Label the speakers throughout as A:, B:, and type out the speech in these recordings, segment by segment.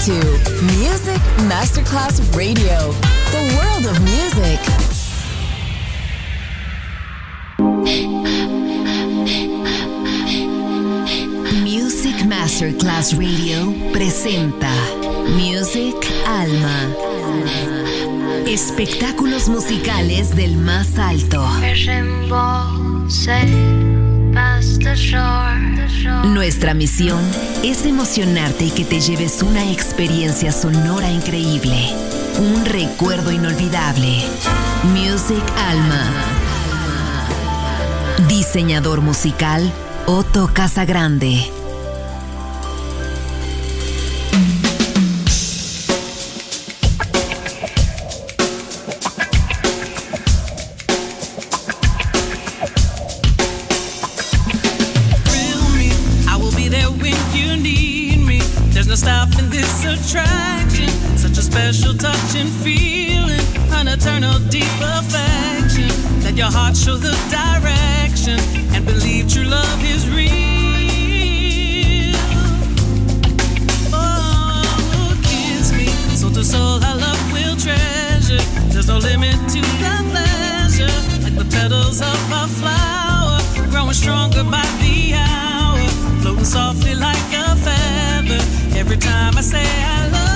A: to Music Masterclass Radio, the world of music. Music Masterclass Radio presenta Music Alma. Espectáculos musicales del más alto. Nuestra misión es emocionarte y que te lleves una experiencia sonora increíble, un recuerdo inolvidable. Music Alma. Diseñador musical Otto Casagrande.
B: Special touch and feeling, an eternal deep affection. Let your heart show the direction and believe true love is real. Oh, kiss me, soul to soul our love will treasure. There's no limit to the pleasure, like the petals of a flower, growing stronger by the hour, floating softly like a feather. Every time I say I love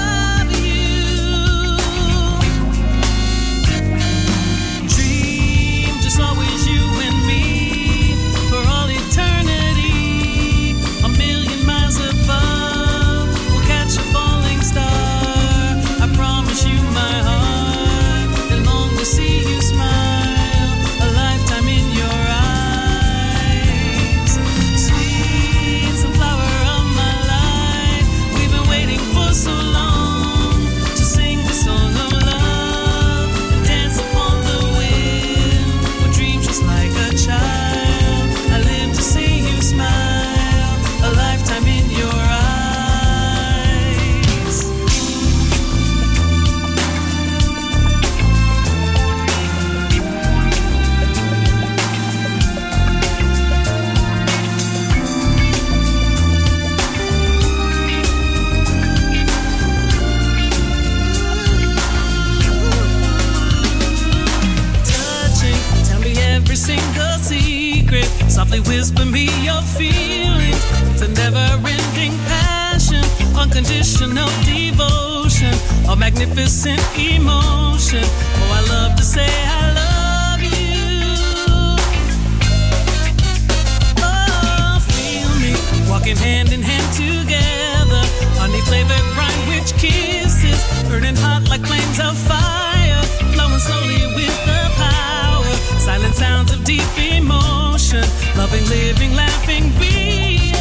B: always you and me for all eternity. A million miles above, we'll catch a falling star. I promise you my heart and long to see you smile. A lifetime in your eyes. Sweet sunflower of my life, we've been waiting for so long to sing the song of love and dance upon the wind. Like a child, I live to see you smile, a lifetime in your eyes. Touching, tell me every single secret. Softly whisper me your feelings. It's a never-ending passion, unconditional devotion, a magnificent emotion. Oh, I love to say I love you. Oh, feel me walking hand in hand together. Honey-flavored brine-rich kisses, burning hot like flames of fire, flowing slowly with the power. Silent sounds of deep emotion, loving, living, laughing, being.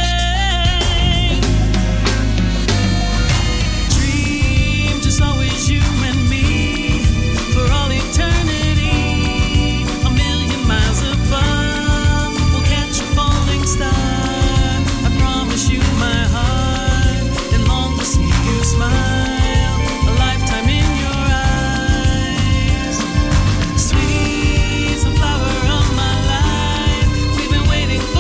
B: Dream just always you and me for all eternity. A million miles above, we'll catch a falling star. I promise you my heart and long to see you smile. A lifetime in your eyes. Sweet sunflower of my life, we've been waiting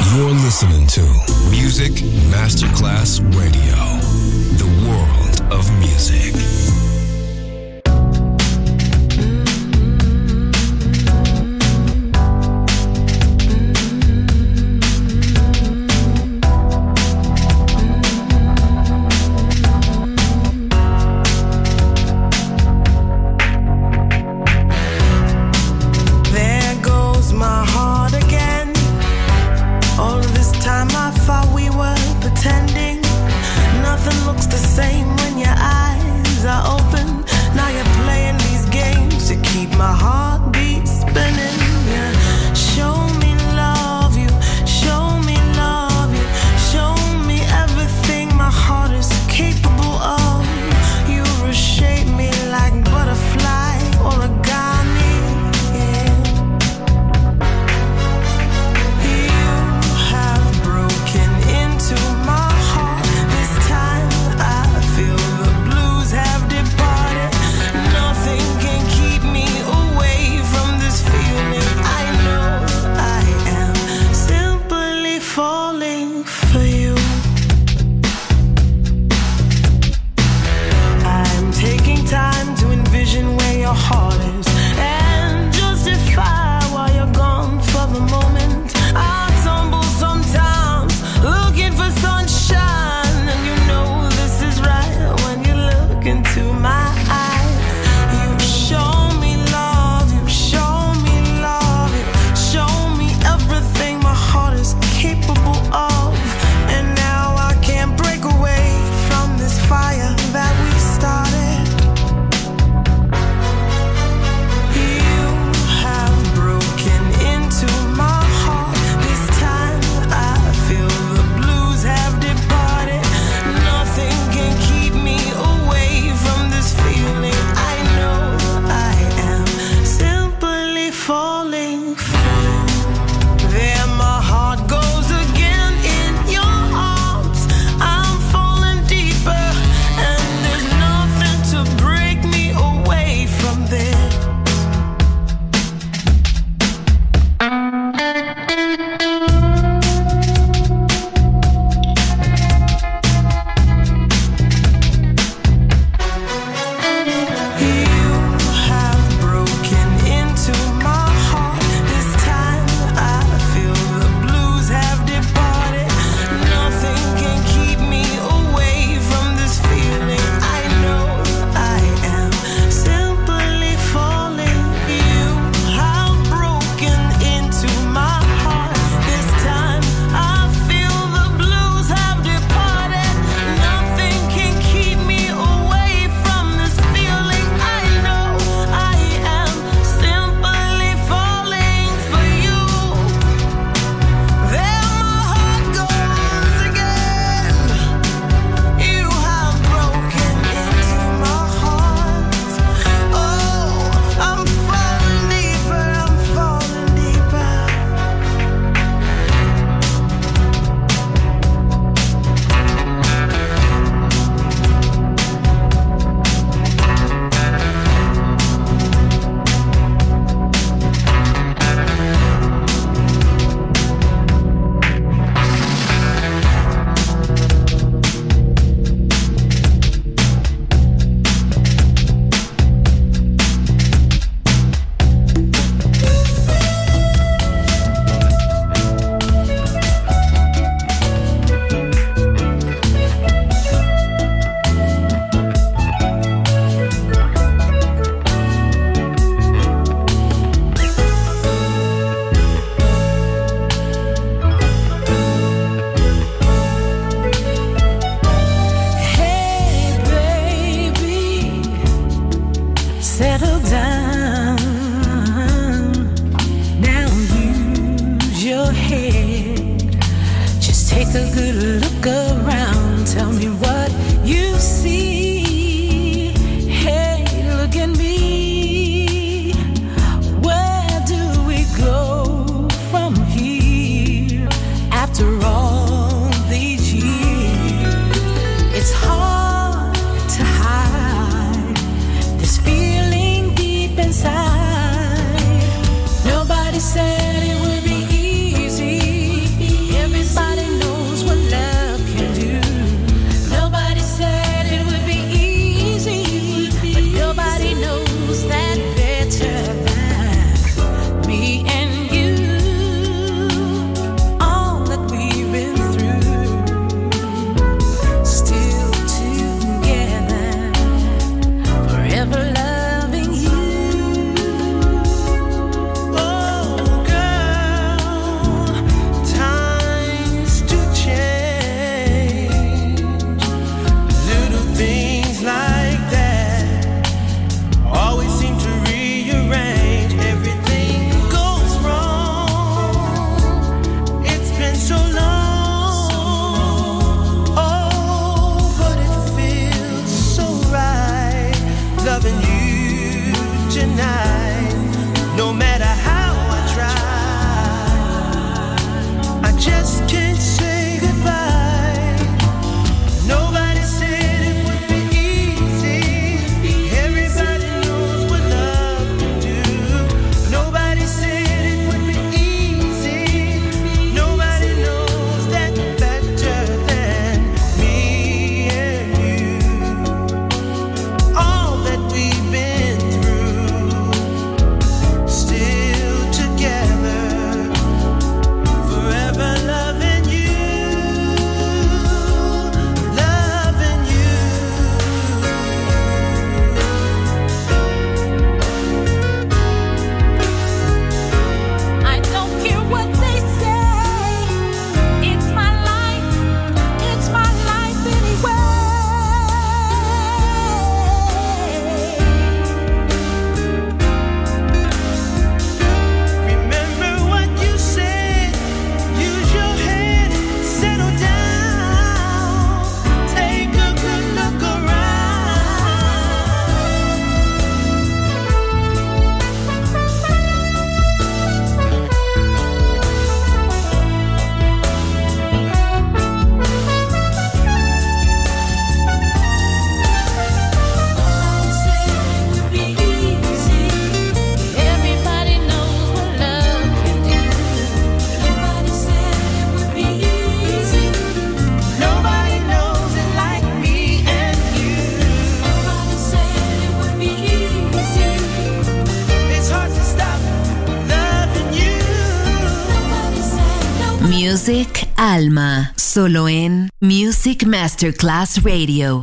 C: You're listening to Music Masterclass Radio, the world of music.
D: Said it would be easy.
A: Music Alma, solo en Music Masterclass Radio.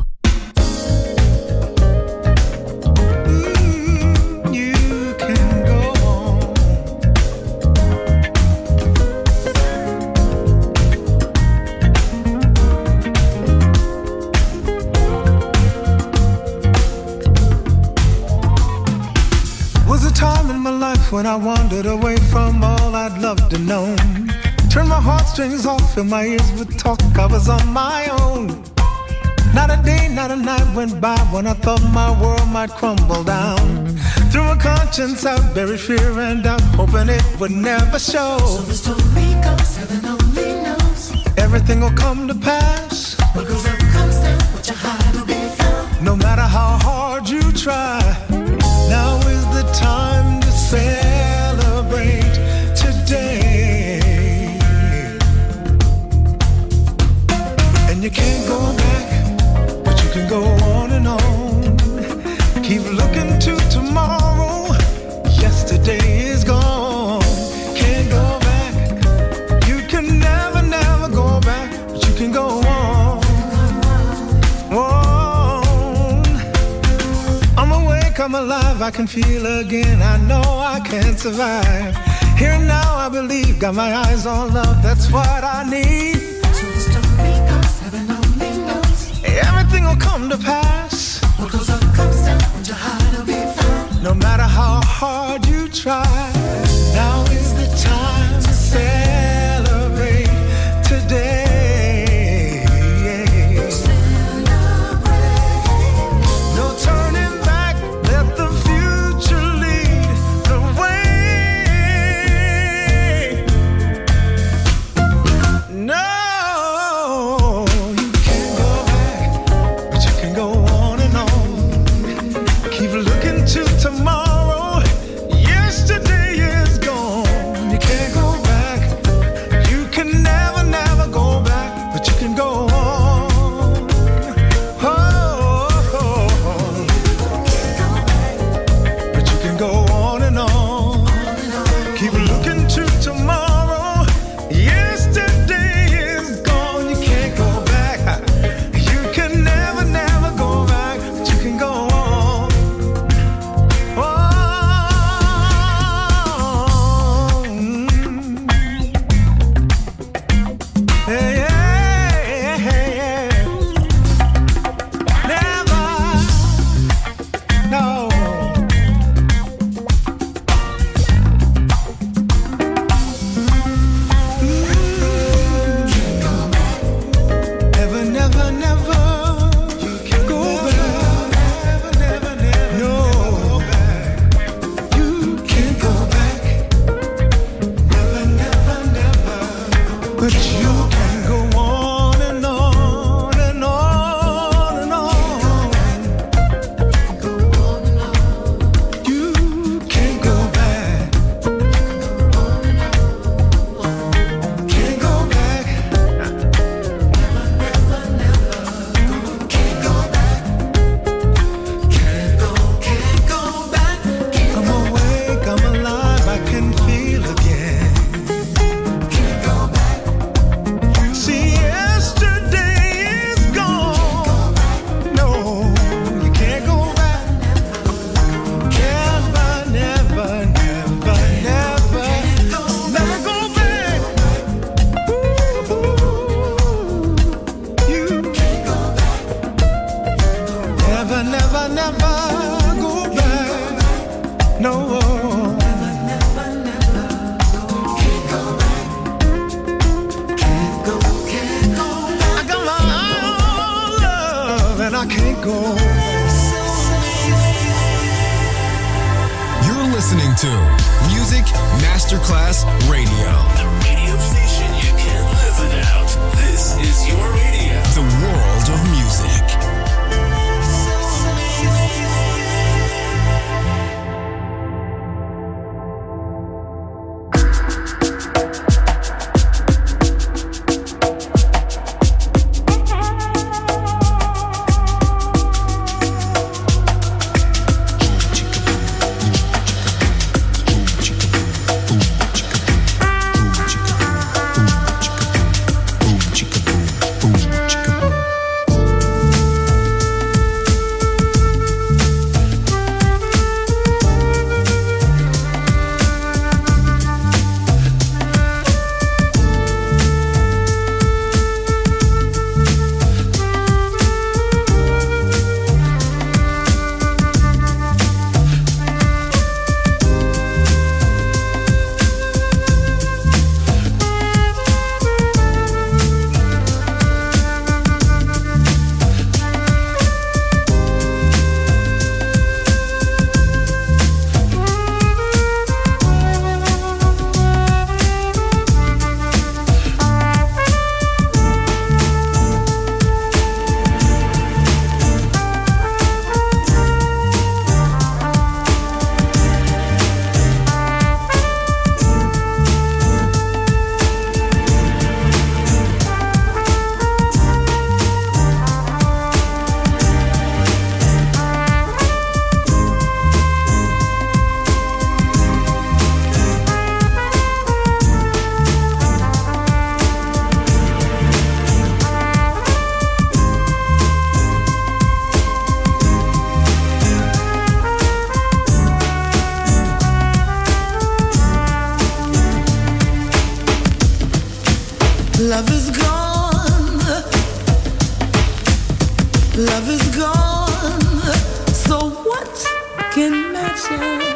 D: When I wandered away from all I'd loved and known, turned my heartstrings off, filled my ears with talk, I was on my own. Not a day, not a night went by when I thought my world might crumble down. Through a conscience I buried fear and doubt, hoping it would never show.
E: So the story goes, heaven only knows.
D: Everything will come to pass.
E: What goes up comes down, what you hide will be found.
D: No matter how hard you try, now is the time to celebrate today. And you can't go back, but you can go on and on. Keep looking to tomorrow. Yesterday is gone. Can't go back. You can never, never go back, but you can go on. I'm awake, I'm alive, I can feel again. I know I can survive. Here and now I believe, got my eyes on love, that's what I need.
E: So the story goes, heaven only knows.
D: Everything will come to pass.
E: What goes up comes down, what you hide will be found.
D: No matter how hard you try, now is the time to celebrate today. Tomorrow, yesterday is gone. You can't go back. You can never, never go back, but you can go on. But you can go on and on. Keep looking to tomorrow. Yesterday is gone. You can't go back. You can never, never go back, but you can go on.
C: You're listening to Music Masterclass Radio.
F: The radio station you can't live without. This is your radio.
C: The world of music.
E: Love is gone. Love is gone. So what can match us?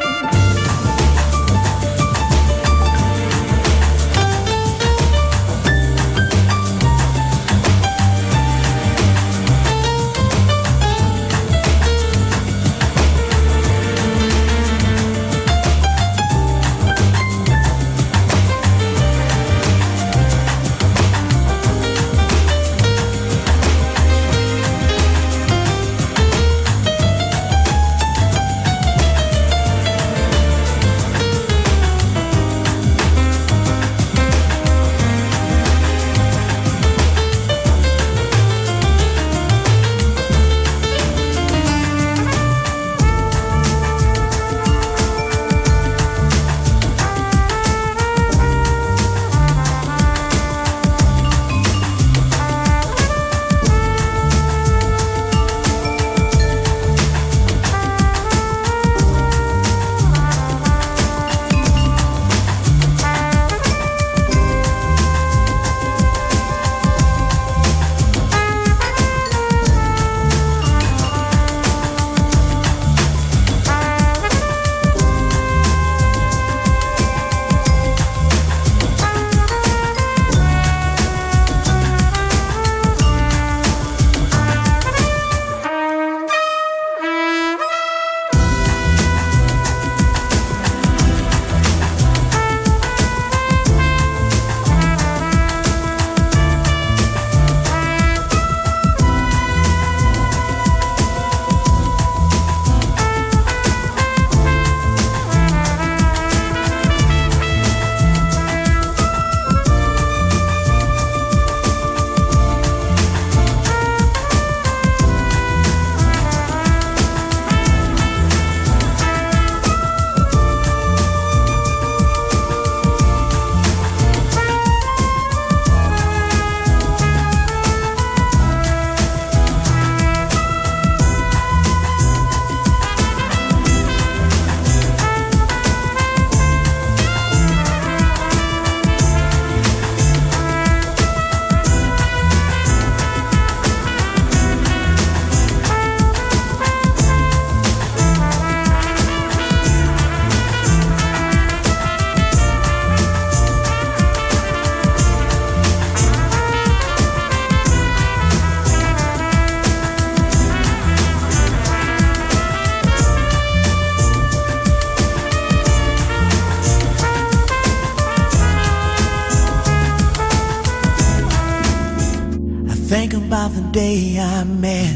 G: Think about the day I met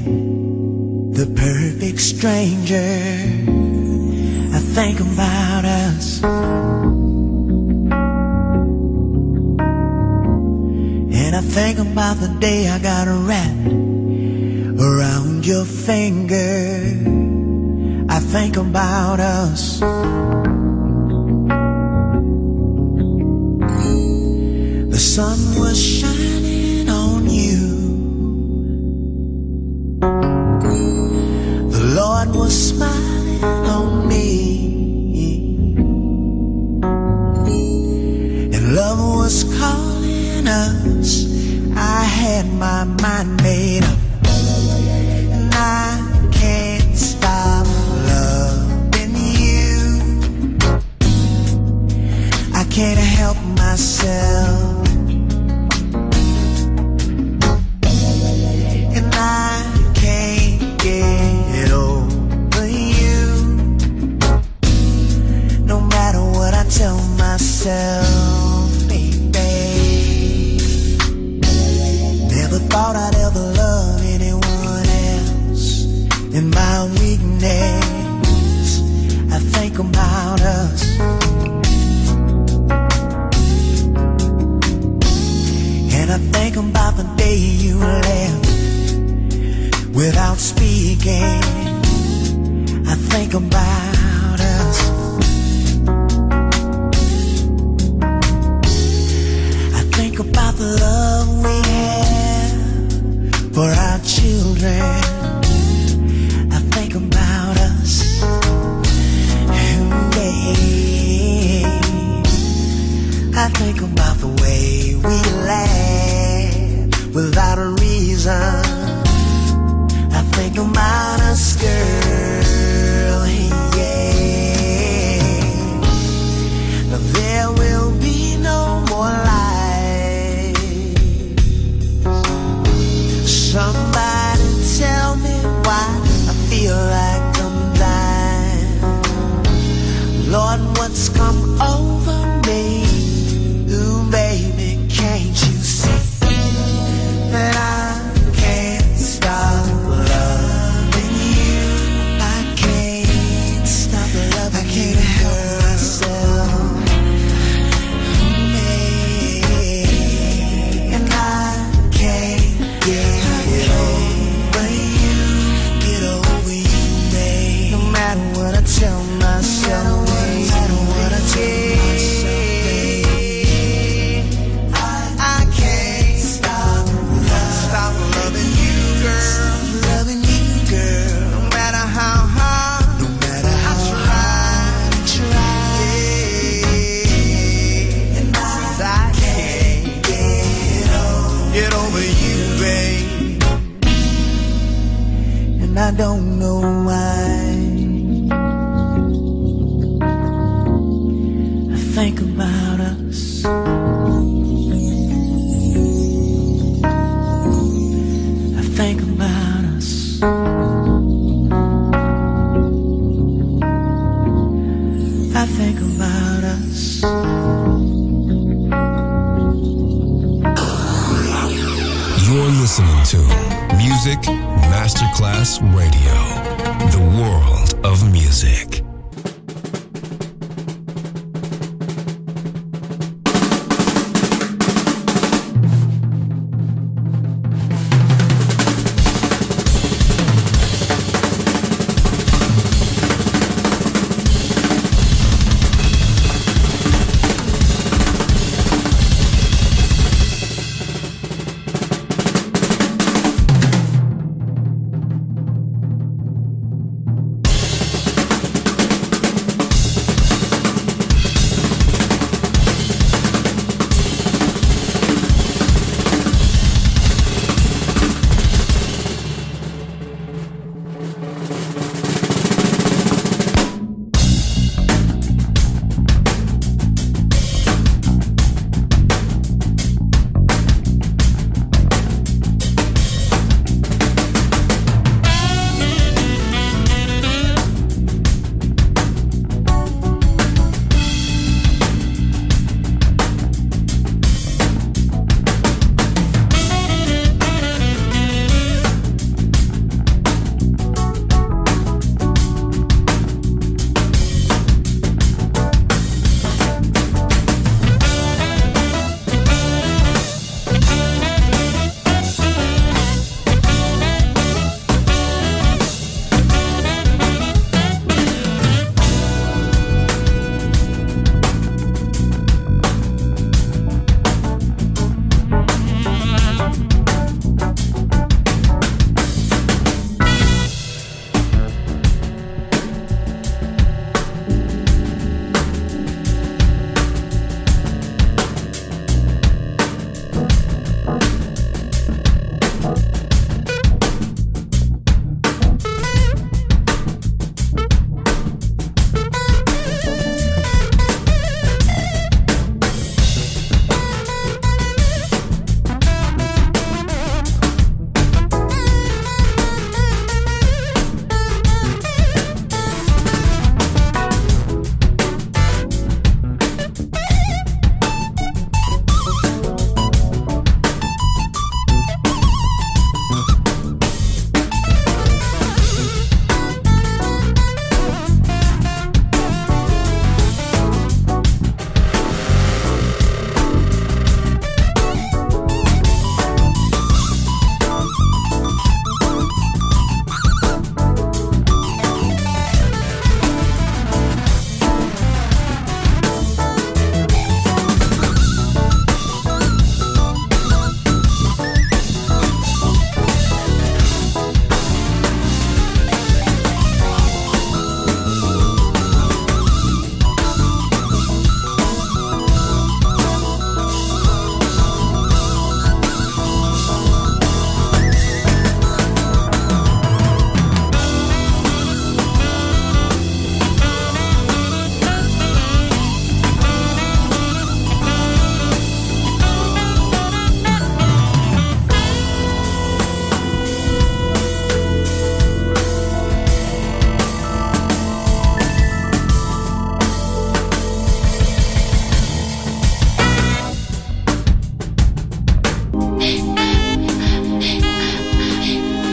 G: the perfect stranger. I think about us. And I think about the day I got wrapped around your finger. I think about us. The sun was shining on you. The Lord was smiling on me. And love was calling us. I had my mind made up. And I can't stop loving you. I can't help myself. And I can't get over you. No matter what I tell myself, baby. Never thought I'd ever love anyone else. In my weakness, I think about us. And I think about the day you left without speaking. I think about us. I think about the love we have for our children. I think about us. And babe, I think about the way we laugh without a reason. I think about us, girl, yeah. There will be no more lies. Somebody tell me why I feel like I'm dying. Lord, what's come over me? Ooh, baby, can't you see that I can't stop loving you? I can't stop loving you. I can't help myself. And I can't get over you, babe. No matter what I tell myself, no matter what I tell myself, babe, I can't stop loving you, girl. Loving you, girl. No matter how hard, no matter how I try, yeah. And I can't get over you, babe. And I don't know why. I think about us. I think about us. I think about us.
C: You're listening to Music Masterclass Radio, the world of music.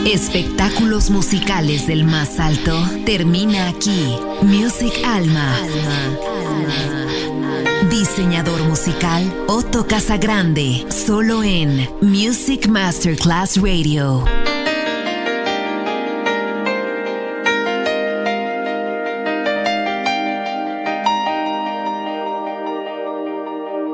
A: Espectáculos musicales del más alto termina aquí. Music Alma. Diseñador musical Otto Casagrande, solo en Music Masterclass Radio.